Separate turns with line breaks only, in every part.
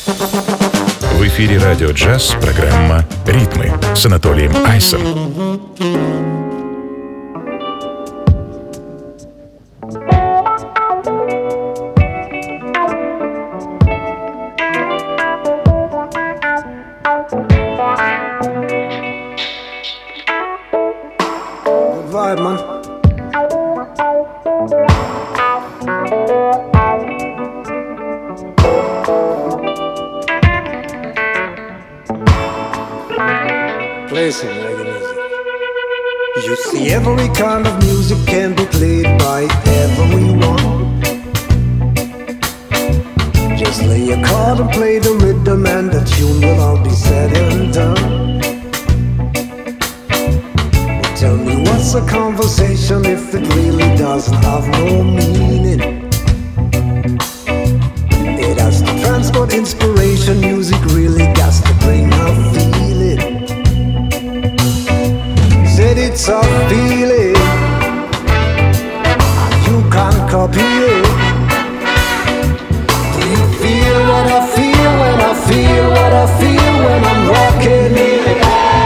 В эфире «Радио Джаз» программа «Ритмы» с Анатолием Айсом.
Vibe, man. Play some reggae music. You see, every kind of music can be played by everyone. Just lay a chord and play the rhythm, and the tune will all be said and done. Tell me, what's a conversation if it really doesn't have no meaning? It has to transport inspiration. Music really got to bring a feeling. Said it's a feeling, and you can't copy it. Do you feel what I feel when I feel what I feel when I'm rocking it?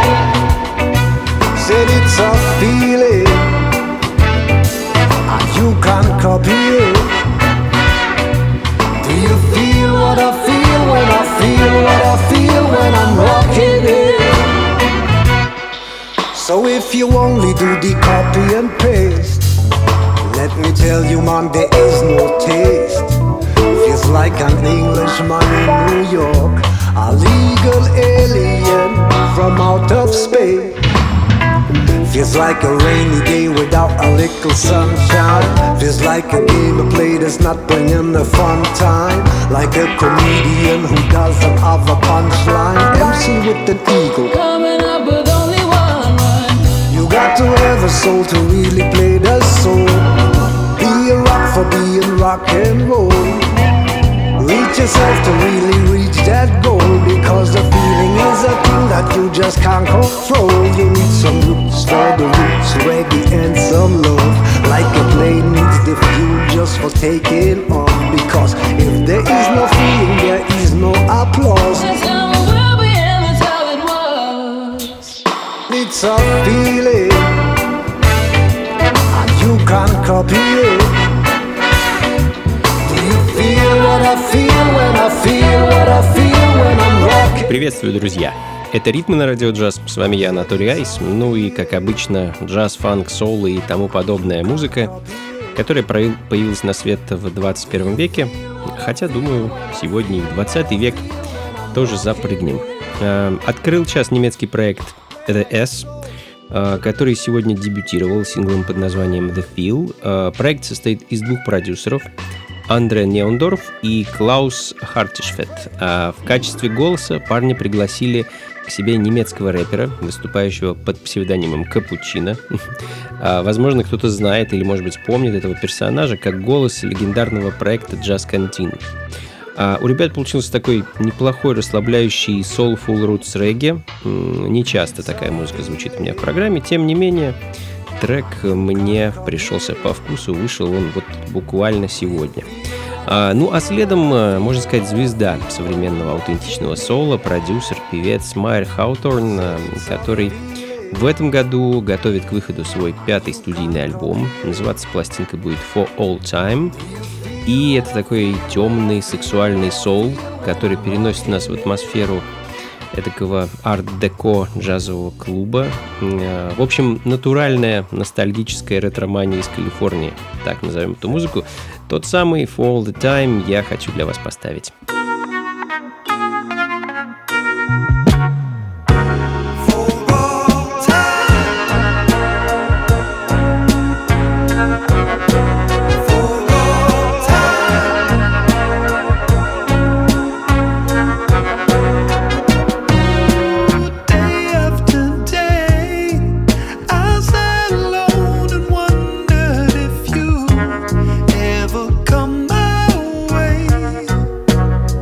Said it's a feeling, and you can't copy it. Do you feel what I feel when I feel what I feel when I'm rocking it? So if you only do the copy and paste, let me tell you, man, there is no taste. Feels like an Englishman in New York, a legal alien from out of space. Feels like a rainy day without a little sunshine. Feels like a game of play that's not bringing the fun time. Like a comedian who doesn't have a punchline. MC with an ego,
coming up with only one rhyme.
you got to have a soul to really play the soul. Be a rock for being rock and roll. Reach yourself to really reach that goal, because the feeling is a thing that you just can't control. You need some roots for the roots, reggae and some love. Like a plane needs the fuel just for taking off. Because if there is no feeling, there is no applause.
That's how it will be and that's how it was.
It's a feeling, and you can't copy it.
Приветствую, друзья! Это «Ритмы» на Радио Джаз. С вами я, Анатолий Айс. Ну и, как обычно, джаз, фанк, соул и тому подобная музыка, которая появилась на свет в 21 веке. Хотя, думаю, сегодня и в 20 век тоже запрыгнем. Открыл час немецкий проект The S, который сегодня дебютировал синглом под названием The Feel. Проект состоит из двух продюсеров, Андре Неондорф и Клаус Хартишфет. В качестве голоса парни пригласили к себе немецкого рэпера, выступающего под псевдонимом Капучино. Возможно, кто-то знает или, может быть, помнит этого персонажа как голос легендарного проекта Jazz Canteen. У ребят получился такой неплохой, расслабляющий soulful roots регги. Не часто такая музыка звучит у меня в программе, тем не менее, трек мне пришелся по вкусу, вышел он вот буквально сегодня. Ну а следом, можно сказать, звезда современного аутентичного соула, продюсер, певец Майер Хауторн, который в этом году готовит к выходу свой 5-й студийный альбом. Называться пластинка будет For All Time. И это такой темный, сексуальный соул, который переносит нас в атмосферу этакого арт-деко джазового клуба. В общем, натуральная ностальгическая ретромания из Калифорнии, так назовем эту музыку. Тот самый For All The Time я хочу для вас поставить.
Ever come my way?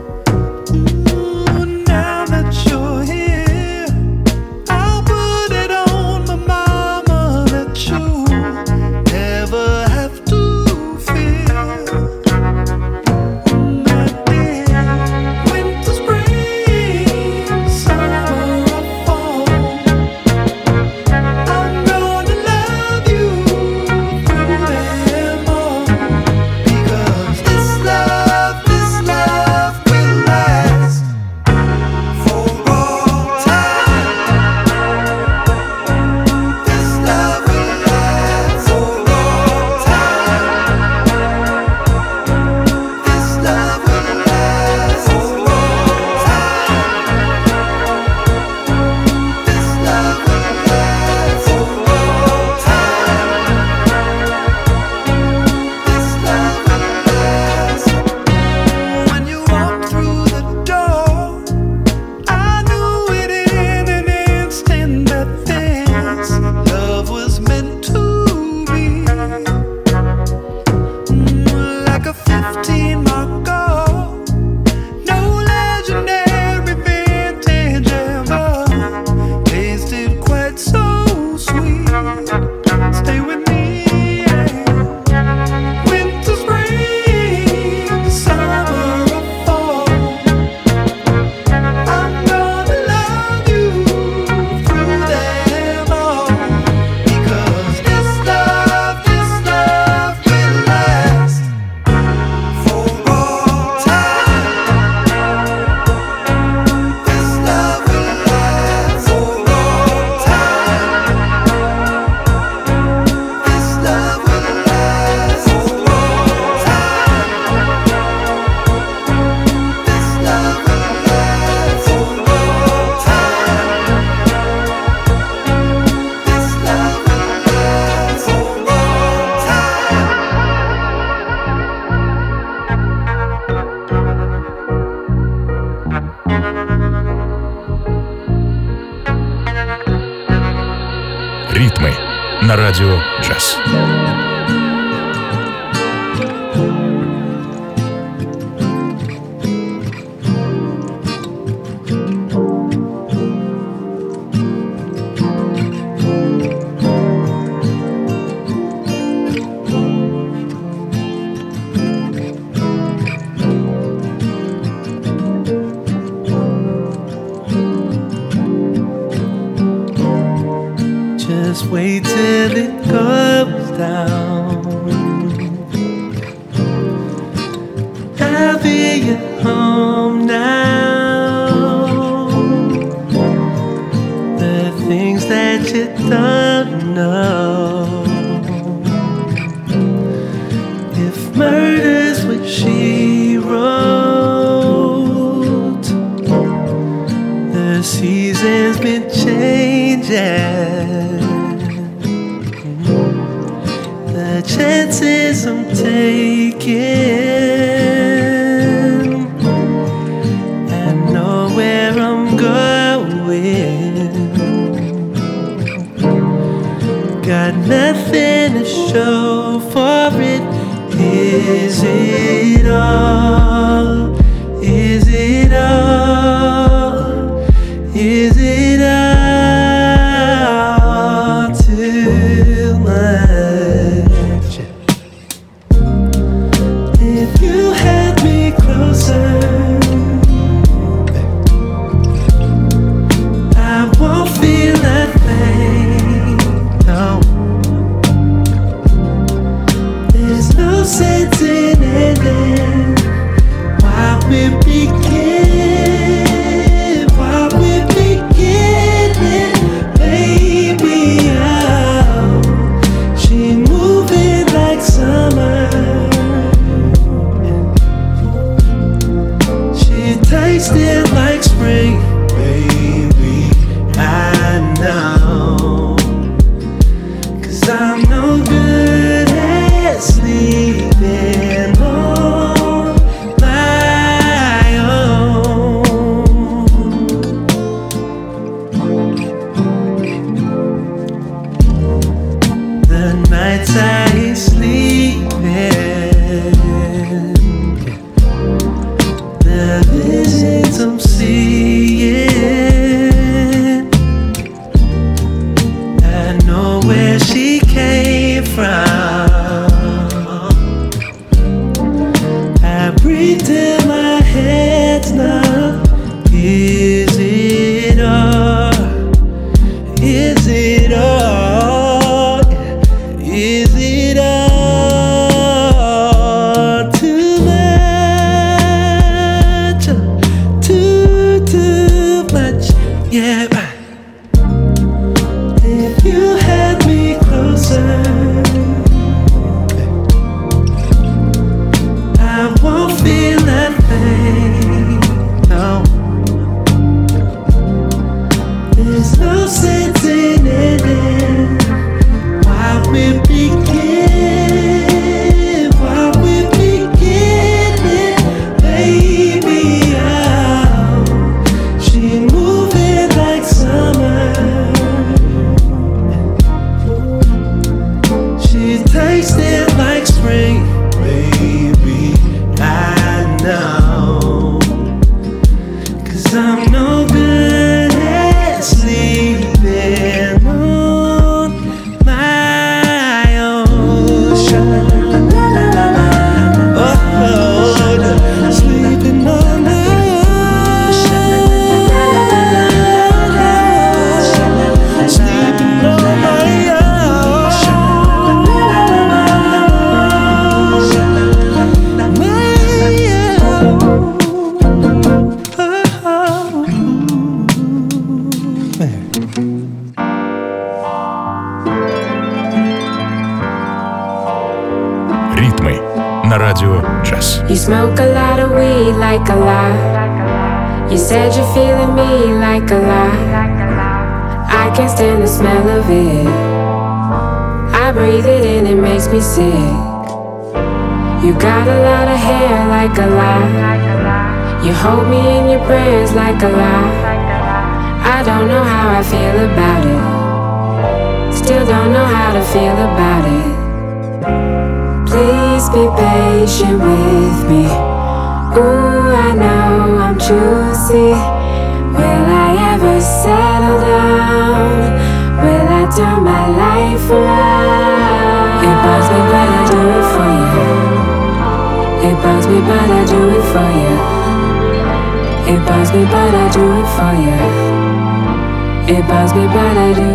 Ритмы на радио «Джаз».
Just wait till it goes down. I'll be at home now. The things that you don't know. If murder's what she wrote, the season's been changing. The chances I'm taking, I know where I'm going. Got nothing to show for it. Is it all? Is it all? Is it all too much? If you had me closer, I won't feel that pain. No, there's no sense in ending while we're beginning. While we're beginning, baby, oh, she moving like summer. She tasted like spring, baby, I know. 'Cause I'm no good at sleeping on my own. The nights I ain't sleeping, the visions I'm seeing, I know where she came from. I breathe till my head's numb. Is it all? Is it all? Is it all too much? Too much, yeah. If you had me closer, I won't feel that pain. No, there's no sense in ending while we're beginning. While we're beginning, baby, oh, she moving like summer. She tasted like spring, baby, I know. 'Cause I'm no good at sleeping on my own. Oh, sleeping on my own. Sleeping on my
Ритмы на радио «Джаз».
You smoke a lot of weed like a lot. You said you're feeling me like a lot. I can't stand the smell of it. I breathe it in, it makes me sick. You got a lot of hair like a lot. You hold me in your prayers like a lot. I don't know how I feel about it. still don't know how to feel about it. Please be patient with me. Ooh, I know I'm choosy. Will I ever settle down? Will I turn my life around? It bugs me, but I do it for you. It bugs me, but I do it for you. It bugs me, but I do it for you. It bugs me, but I do.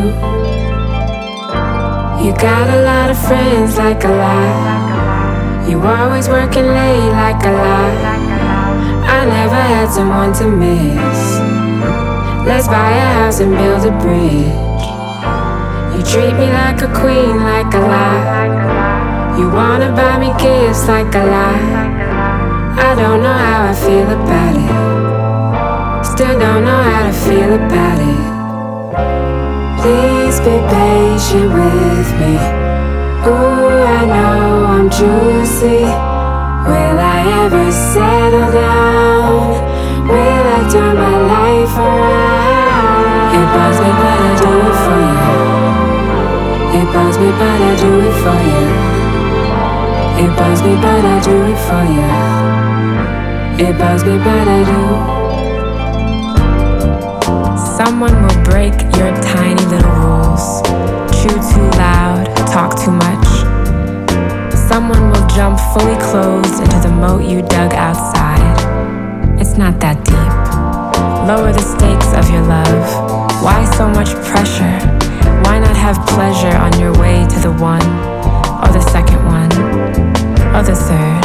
You got a lot of friends, like a lot. You always working late, like a lot. I never had someone to miss. Let's buy a house and build a bridge. You treat me like a queen, like a lot. You wanna buy me gifts, like a lot. I don't know how I feel about it. Still don't know how to feel about it. Please be patient with me. Ooh, I know I'm juicy. Will I ever settle down? Will I turn my life around? It bugs me, but I do it for you. It bugs me, but I do it for you. It bugs me, but I do it for you. It bugs me, but I do.
Someone will break your tiny little rules. Chew too loud, talk too much. Someone will jump fully clothed into the moat you dug outside. It's not that deep. Lower the stakes of your love. Why so much pressure? Why not have pleasure on your way to the one, or the second one, or the third?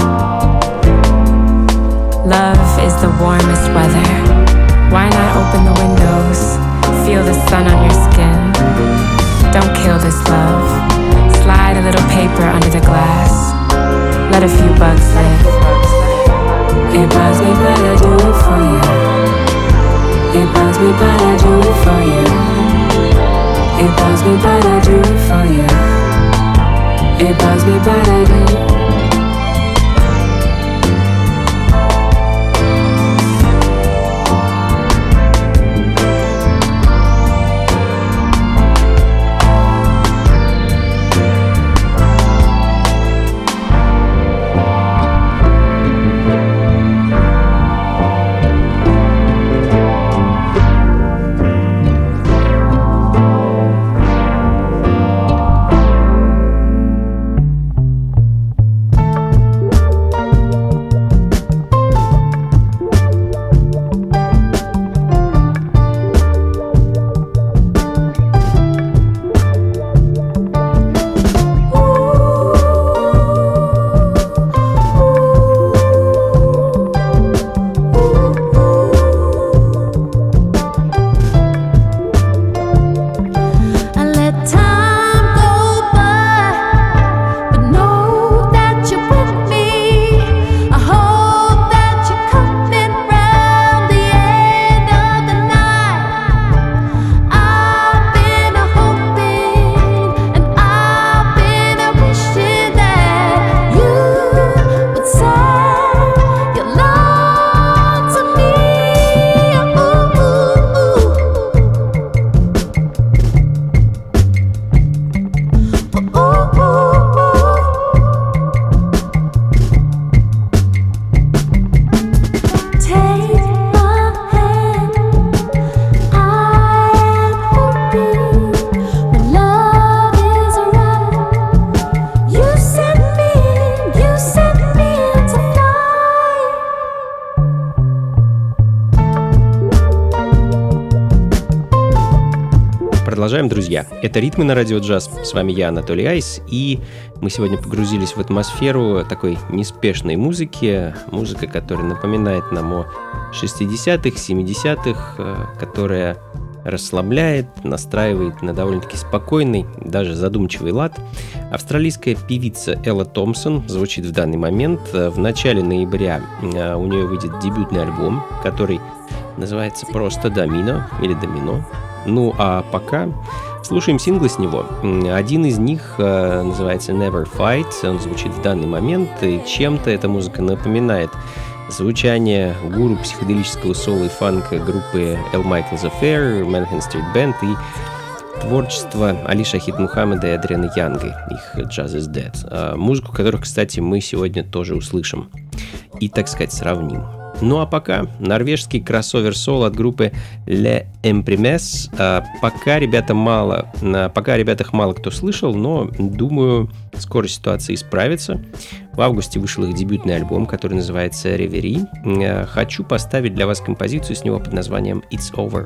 Love is the warmest weather. Why not open the windows? Feel the sun on your skin. Don't kill this love. Slide a little paper under the glass. Let a few bugs live.
It bugs me, but I do it for you. It bugs me, but I do it for you. It bugs me, but I do it for you. It bugs me, but I do.
Продолжаем, друзья. Это «Ритмы на радио джаз». С вами я, Анатолий Айс, и мы сегодня погрузились в атмосферу такой неспешной музыки, музыка, которая напоминает нам о 60-х, 70-х, которая расслабляет, настраивает на довольно-таки спокойный, даже задумчивый лад. Австралийская певица Элла Томпсон звучит в данный момент. В начале ноября у нее выйдет дебютный альбом, который называется просто «Домино» или «Домино». Ну а пока слушаем синглы с него. Один из них называется «Never Fight», он звучит в данный момент, и чем-то эта музыка напоминает звучание гуру психоделического соло и фанка группы Al Michaels Affair, Manhattan Street Band, и творчество Али Шахид Мухаммеда и Адриана Янга, их Jazz is Dead, музыку которых, кстати, мы сегодня тоже услышим и, так сказать, сравним. Ну а пока норвежский кроссовер-сол от группы Les Imprimes. Пока о ребятах мало кто слышал, но, думаю, скоро ситуация исправится. В августе вышел их дебютный альбом, который называется Reverie. Хочу поставить для вас композицию с него под названием It's Over.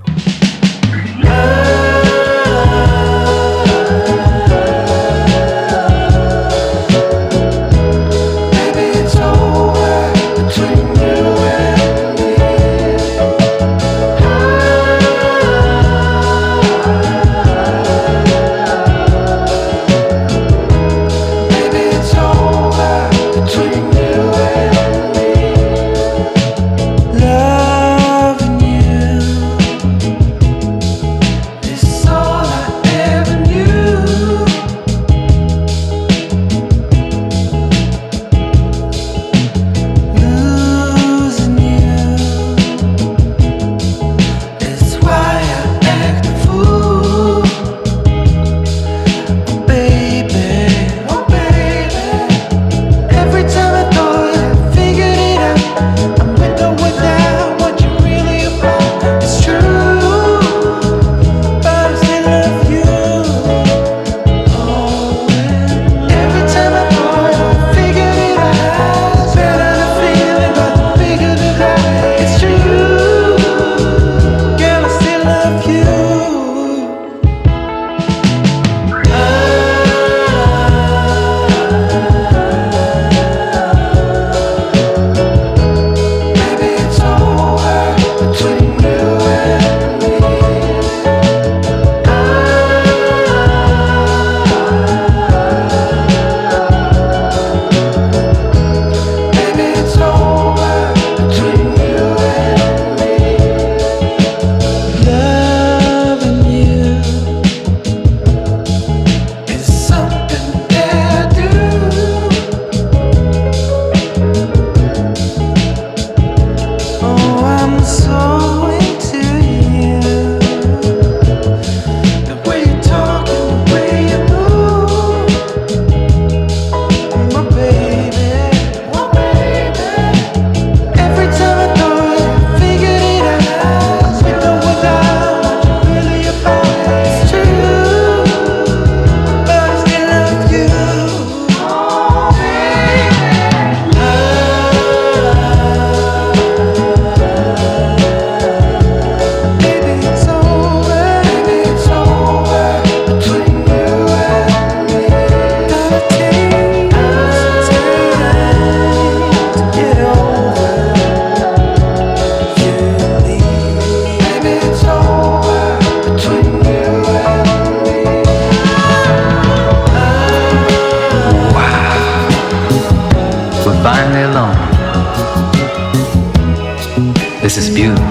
This is beautiful.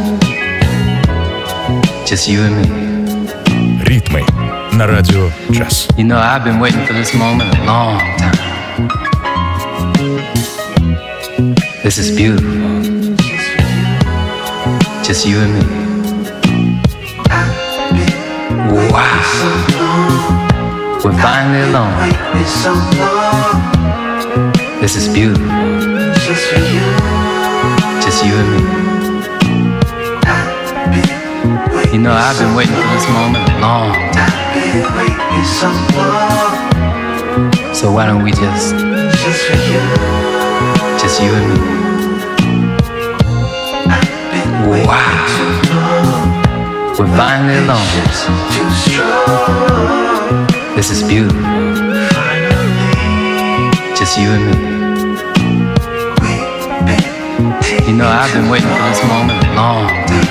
Just you and me.
Ритмы на радио Джаз.
You know, I've been waiting for this moment a long time. This is beautiful. Just you and me. Wow. We're finally alone. This is beautiful. Just you and me. You know, I've been waiting for this moment a long time. So why don't we just you and me. Wow. We're finally alone. This is beautiful. Just you and me. You know, I've been waiting for this moment a long time.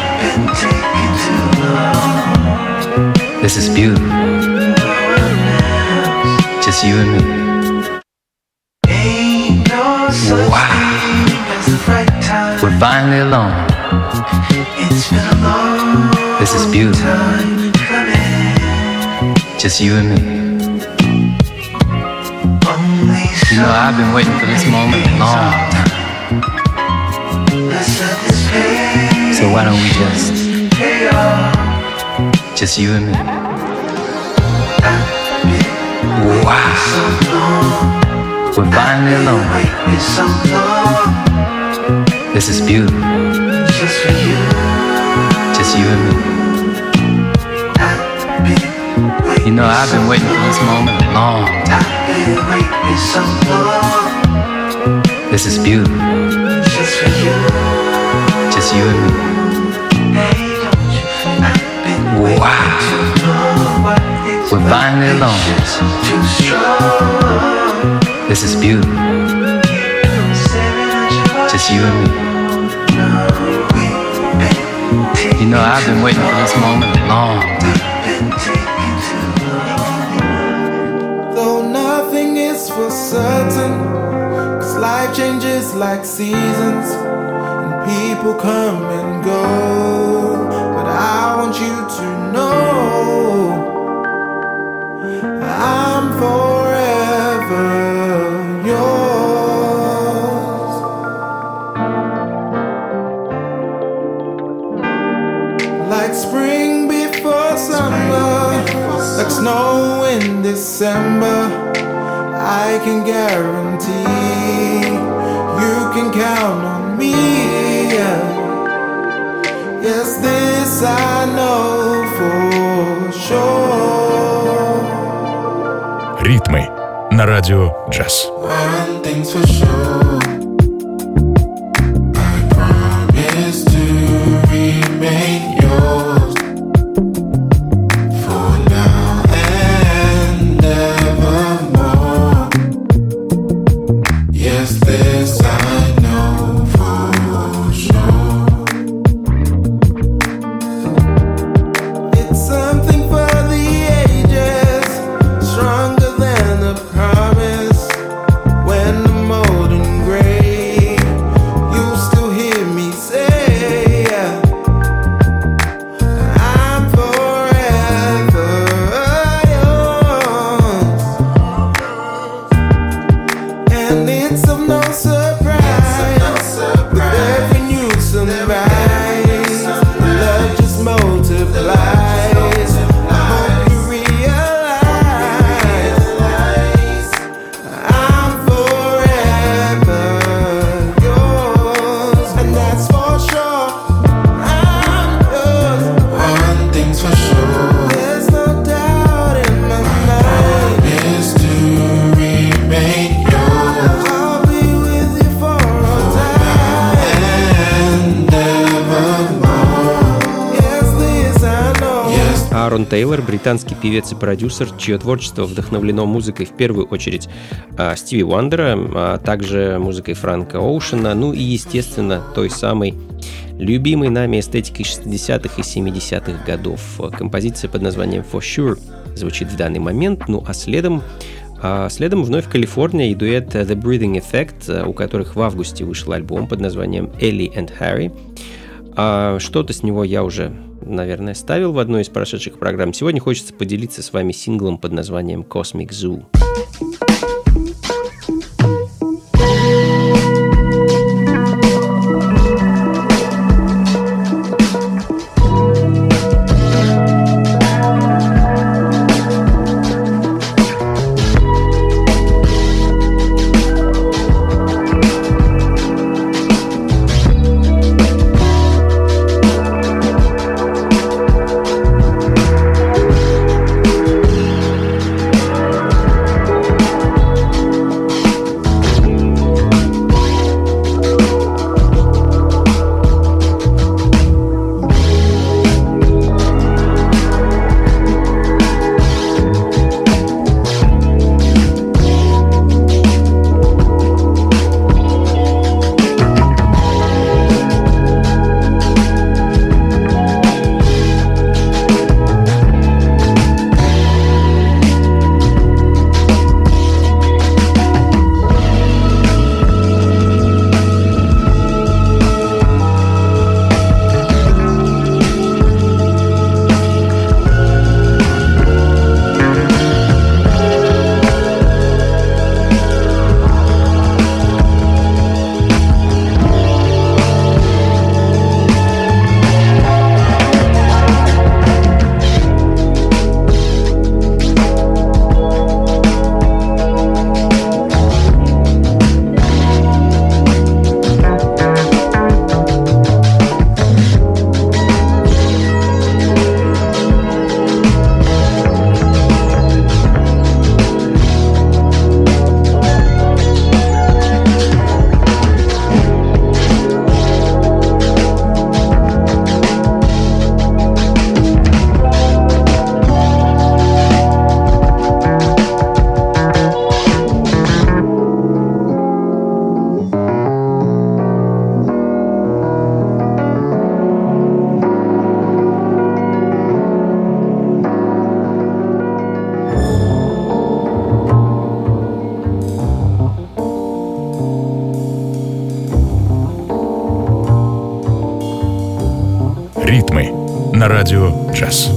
This is beautiful. Just you and me. Wow. We're finally alone. This is beautiful. Just you and me. You know, I've been waiting for this moment a long time. So why don't we just you and me. Wow. We're finally alone. This is beautiful. Just you and me. You know, I've been waiting for this moment a long time. This is beautiful. Just you and me. Wow. We're finally alone. This is beautiful. Just you and me. You know, I've been waiting for this moment a long time.
Though nothing is for certain, 'cause life changes like seasons, and people come and go. But I want you to know I'm forever yours. Like spring before summer, like snow in December, I can guarantee you can count on me. Yes, this I know for sure.
Ритмы на радио Джаз.
One thing's for sure, I promise to remain yours for now and evermore. Yes, this I know for sure. It's something for the ages, stronger than a promise. When I'm old and gray, you still hear me say, I'm forever yours. And it's of no surprise, with every new sunrise, love just multiplies. I hope you realize I'm forever yours, and that's for sure. I'm yours. One thing's for sure, there's no doubt in my mind. Is to remain yours. I'll be with you for all time and evermore. Yes, this I know. Yes.
Аарон Тейлор, британский певец и продюсер, чье творчество вдохновлено музыкой в первую очередь Стиви Уандера, а также музыкой Фрэнка Оушена, ну и, естественно, той самой любимой нами эстетикой 60-х и 70-х годов. Композиция под названием For Sure звучит в данный момент, ну а следом вновь Калифорния и дуэт The Breathing Effect, у которых в августе вышел альбом под названием Ellie and Harry. Что-то с него я уже, наверное, ставил в одной из прошедших программ. Сегодня хочется поделиться с вами синглом под названием Cosmic Zoo.
Ритмы на радио «Джаз».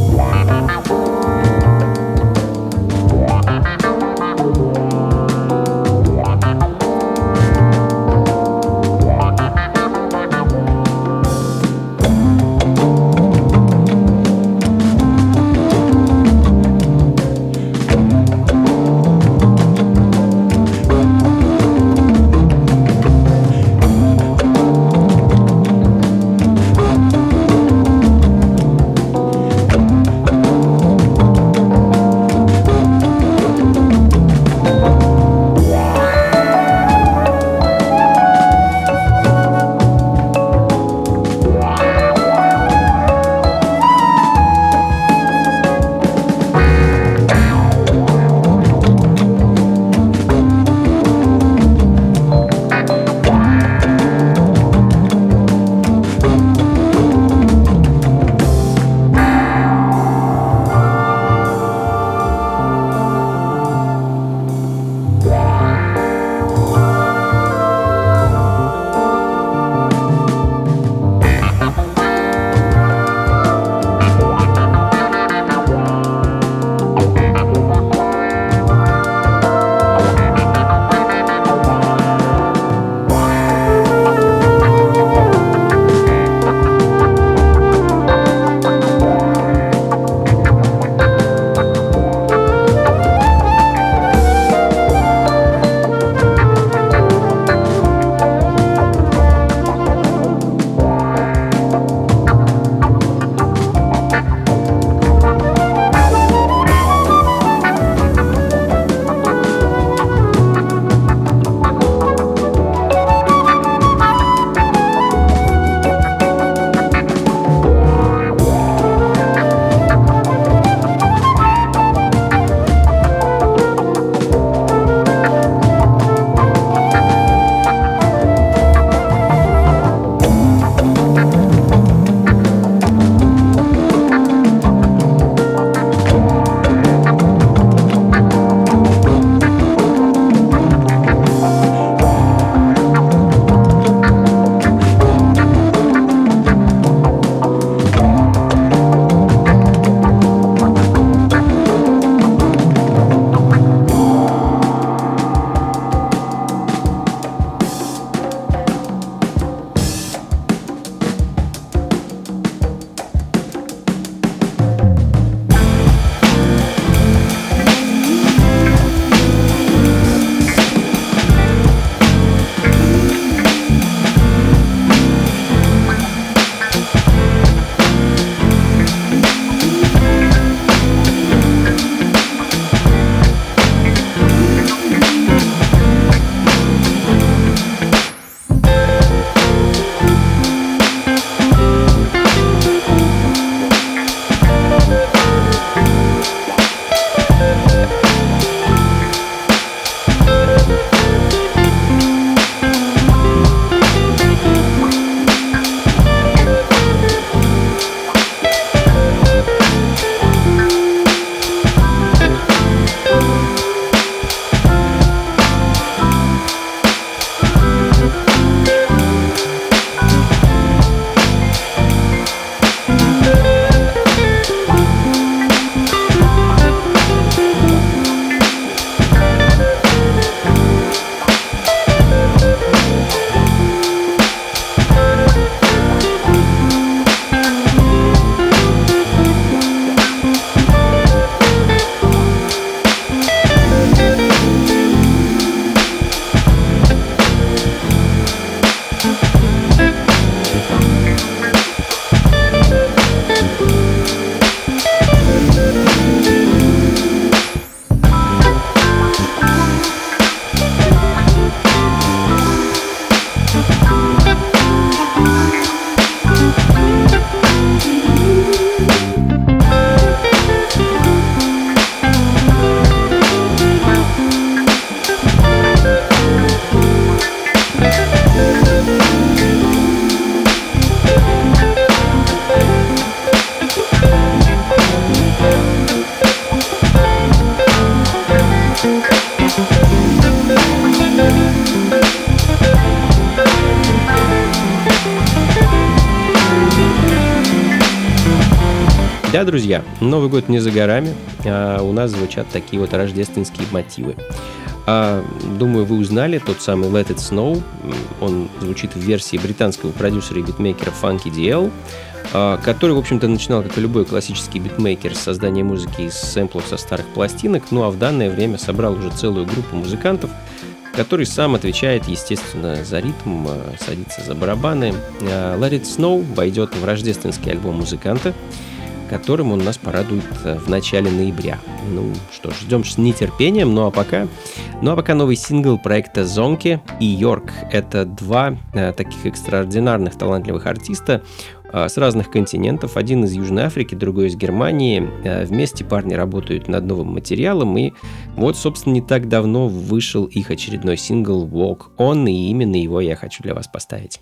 Да, друзья, Новый год не за горами, а у нас звучат такие вот рождественские мотивы. Думаю, вы узнали тот самый Let It Snow. Он звучит в версии британского продюсера и битмейкера Funky DL, который, в общем-то, начинал, как и любой классический битмейкер, с создания музыки из сэмплов со старых пластинок, ну а в данное время собрал уже целую группу музыкантов, который сам отвечает, естественно, за ритм, садится за барабаны. Let It Snow войдет в рождественский альбом музыканта, которым он нас порадует в начале ноября. Ну что ж, ждем с нетерпением. Ну а пока новый сингл проекта Zonky и Йорк. Это два таких экстраординарных талантливых артиста с разных континентов. Один из Южной Африки, другой из Германии. Вместе парни работают над новым материалом. И вот, собственно, не так давно вышел их очередной сингл Walk On, и именно его я хочу для вас поставить.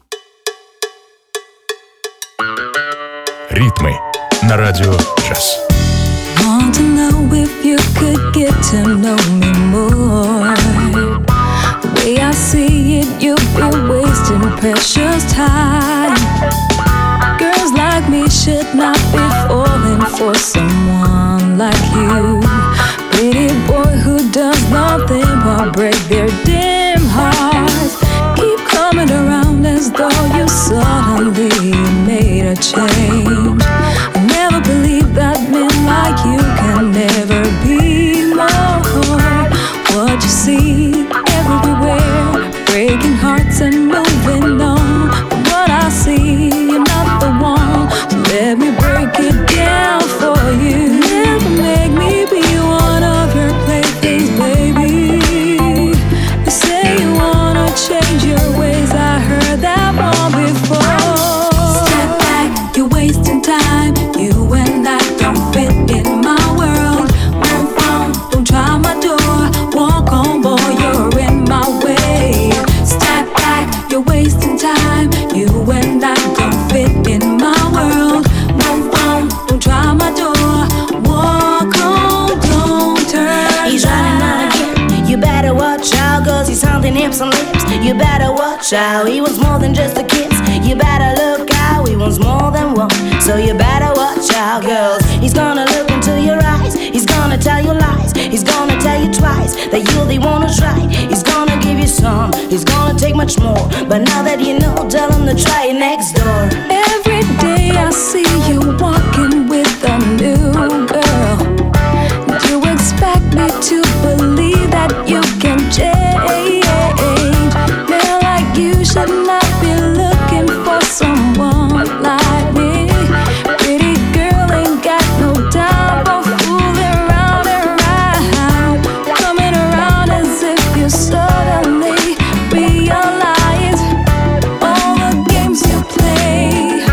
Ритмы на радио Джаз.
Want to know if you could get to know me more. The way I see it, you'll be wasting precious time. Girls like me should not be falling for someone like you. Pretty boy who does nothing but break their dim hearts. Keep coming around as though you suddenly made a change. I never believed that men like you can never be more. What you see everywhere, breaking hearts and moving on. But what I see, you're not the one. So let me break it down for you. Never make me be one of your playthings, baby. You say you wanna change your ways, I heard that one before. Step back, you're wasting time. You and I don't fit in my world. Move on, don't try my door. Walk on, boy, you're in my way. Step back, you're wasting time. You and I don't fit in my world. Move on, don't try my door. Walk on, don't turn.
He's running out again. You better watch out, cause he's hunting hips and lips. You better watch out, he wants more than just a kiss. You better look out, he wants more than one. So you better watch out, girls. He's gonna look into your eyes. He's gonna tell you lies. He's gonna tell you twice that you're the one who's right. He's gonna give you some. He's gonna take much more. But now that you know, tell him to try it next door.
Every day I see you walking with a new girl. You expect me to believe that you can change. Man like you should not be looking for someone like me. Pretty girl ain't got no time for fooling around and round. Coming around as if you suddenly realize all the games you play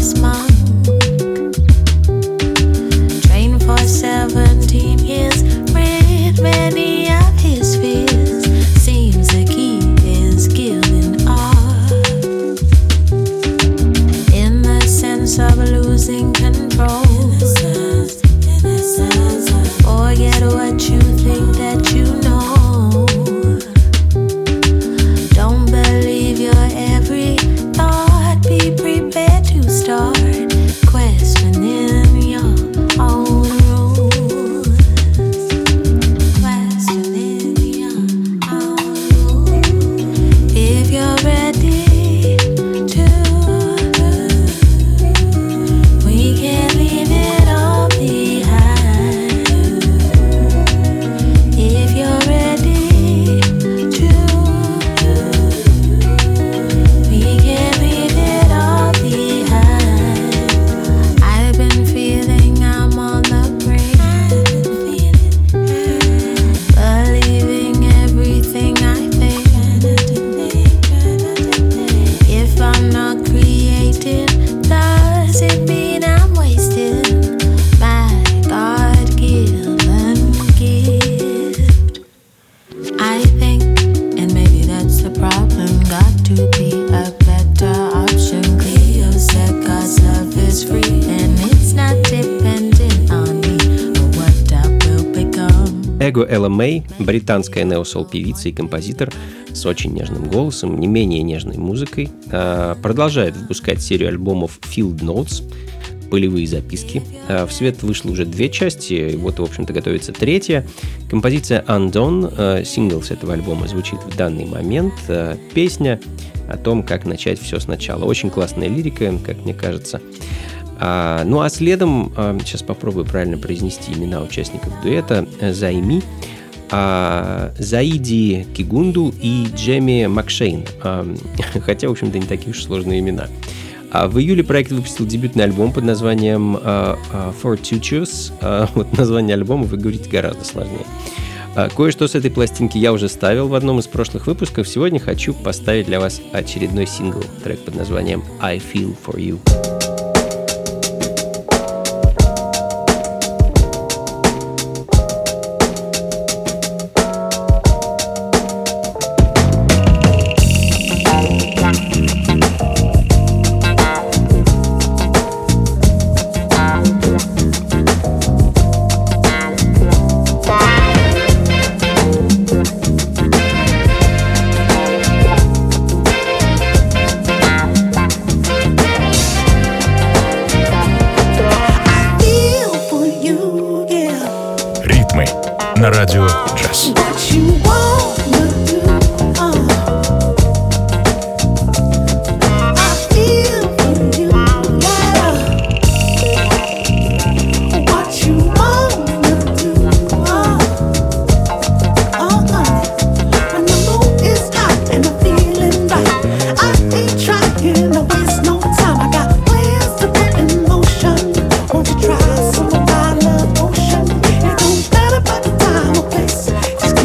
Buddhist monk. Trained for 17 years, rid many of his fears. Seems the key is skill in art, in the sense of losing control. Forget what you think that you know. Don't believe your every thought. Be prepared to start questioning your own rules. Questioning your own rules. If you're ready to, we can leave it all behind. If you're ready to, we can leave it all behind. I've been feeling I'm on the brink, believing everything I think. If I'm not creating, does it mean I'm wasting my God-given gift? I think, and maybe that's the problem, got to be a better option. Clear yourself, God's love is free, and it's not dependent on me or what I will become.
Эго Элла Мэй, британская нео-сол певица и композитор с очень нежным голосом, не менее нежной музыкой, продолжает выпускать серию альбомов Field Notes, полевые записки. В свет вышло уже 2 части, и вот, в общем-то, готовится 3-я. Композиция Undone, сингл с этого альбома, звучит в данный момент. Песня о том, как начать все сначала. Очень классная лирика, как мне кажется. Ну а следом, сейчас попробую правильно произнести имена участников дуэта, Займи, Заиди Кигунду и Джеми Макшейн. Хотя, в общем-то, не такие уж сложные имена. В июле проект выпустил дебютный альбом под названием Fortuitous. Вот название альбома вы говорите гораздо сложнее. Кое-что с этой пластинки я уже ставил в одном из прошлых выпусков. Сегодня хочу поставить для вас очередной сингл, трек под названием I Feel For You.
На радио Джаз.
Just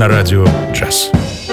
на радио «Джаз».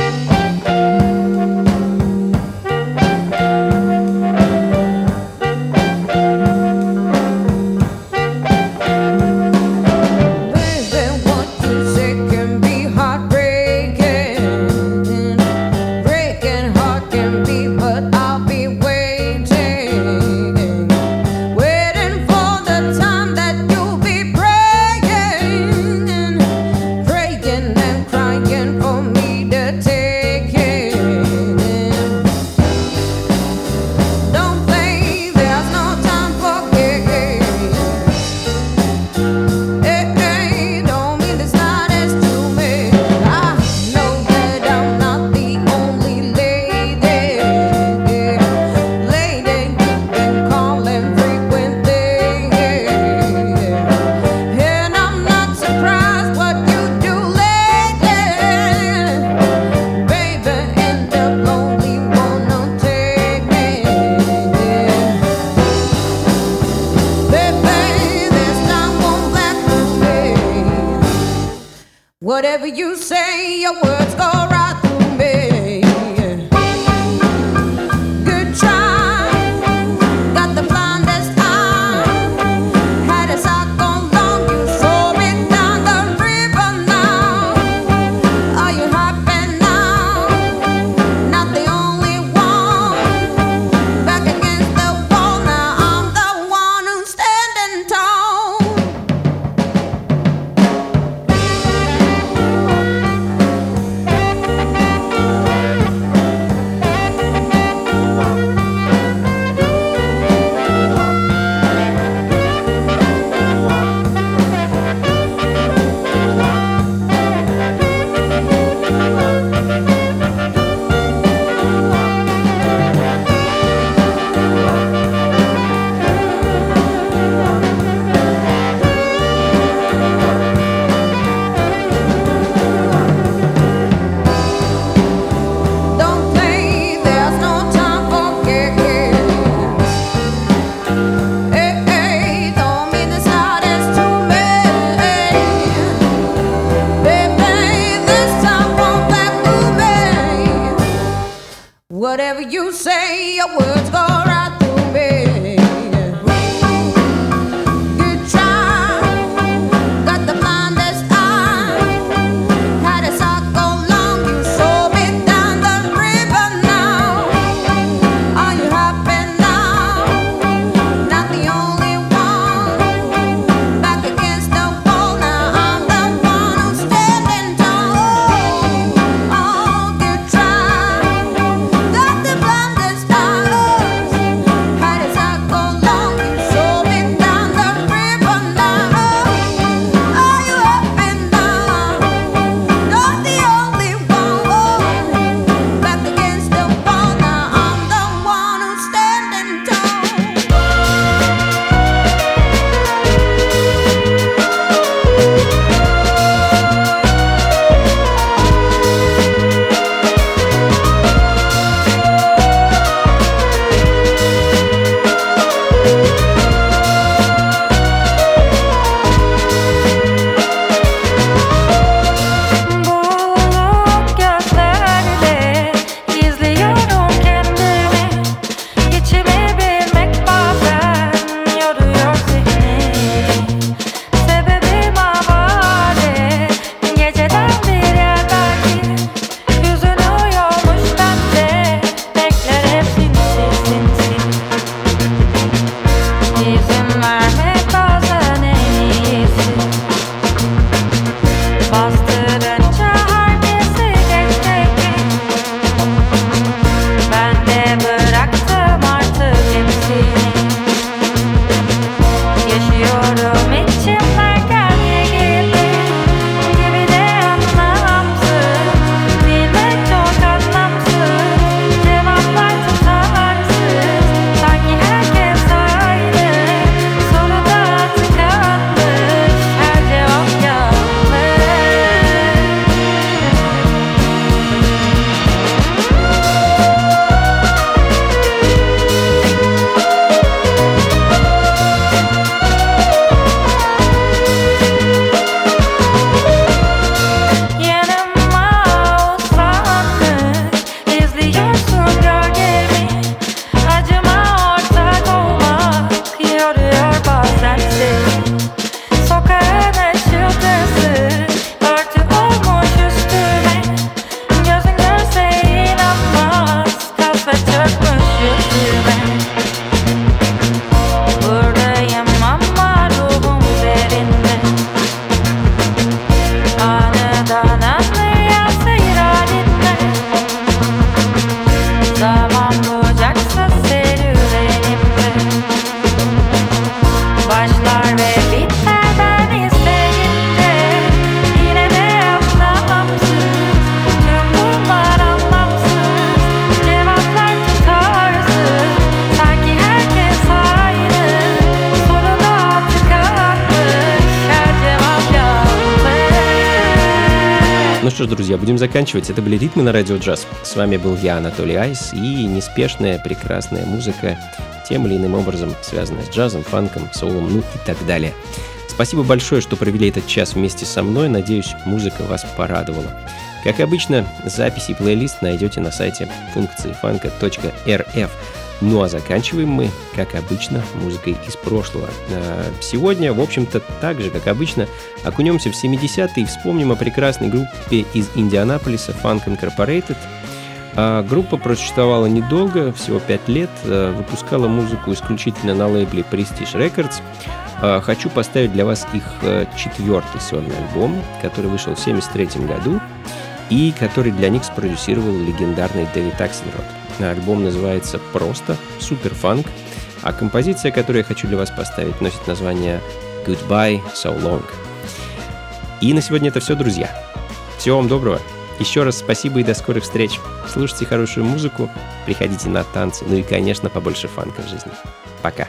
Whatever you say, your words go right through me. Good try, got the blindest eye. Had a sock on long, you saw me down the river now. Are you happy now? Not the only one. Back against the wall now, I'm the one who's standing tall.
Ну что ж, друзья, будем заканчивать. Это были «Ритмы на радио джаз». С вами был я, Анатолий Айс, и неспешная, прекрасная музыка, тем или иным образом связанная с джазом, фанком, соулом, ну и так далее. Спасибо большое, что провели этот час вместе со мной. Надеюсь, музыка вас порадовала. Как обычно, записи и плейлист найдете на сайте функции фанка.рф. Ну а заканчиваем мы, как обычно, музыкой из прошлого. Сегодня, в общем-то, так же, как обычно, окунемся в 70-е и вспомним о прекрасной группе из Индианаполиса Funk Incorporated. Группа просуществовала недолго, всего 5 лет, выпускала музыку исключительно на лейбле Prestige Records. Хочу поставить для вас их 4-й сольный альбом, который вышел в 1973 году и который для них спродюсировал легендарный Дэвид Аксельрод. Альбом называется просто «Суперфанк», а композиция, которую я хочу для вас поставить, носит название «Goodbye So Long». И на сегодня это все, друзья. Всего вам доброго. Еще раз спасибо и до скорых встреч. Слушайте хорошую музыку, приходите на танцы, ну и, конечно, побольше фанка в жизни. Пока.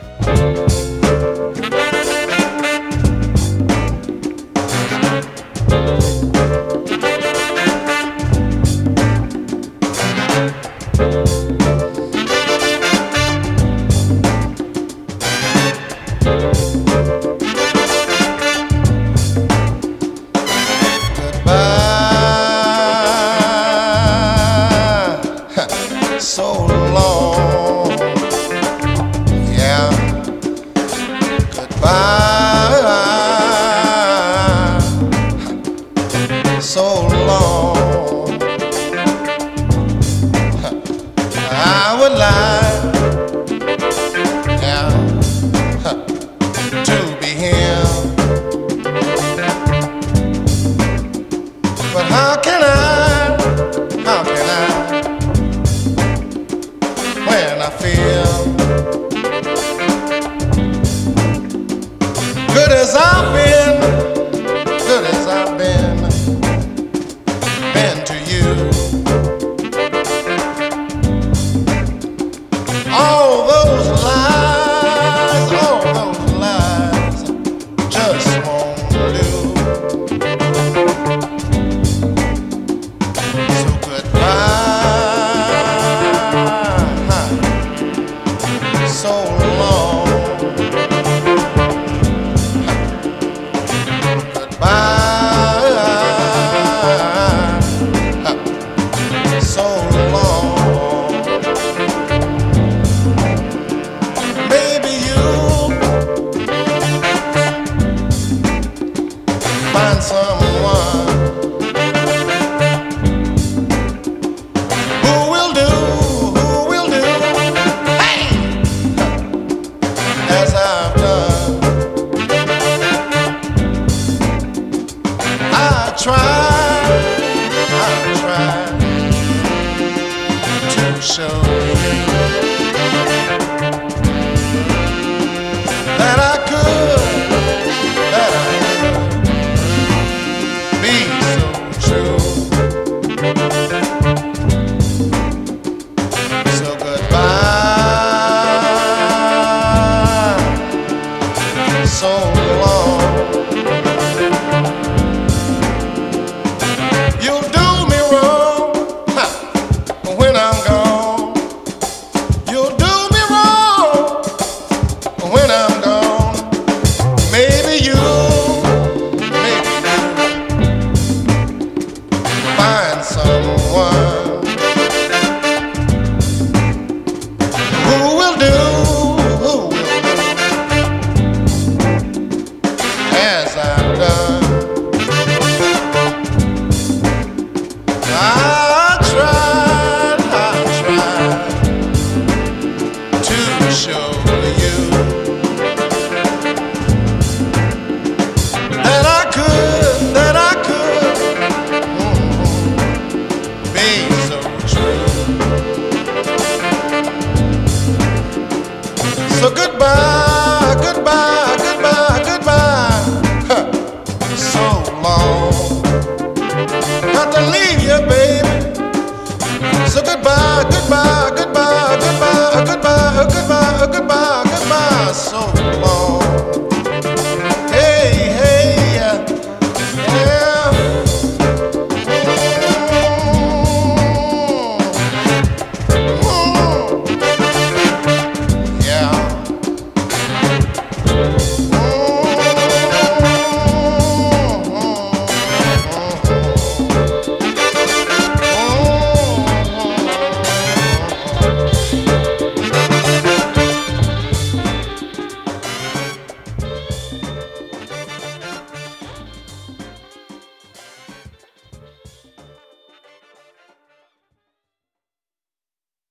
Goodbye, goodbye, goodbye, goodbye, goodbye, goodbye, goodbye, so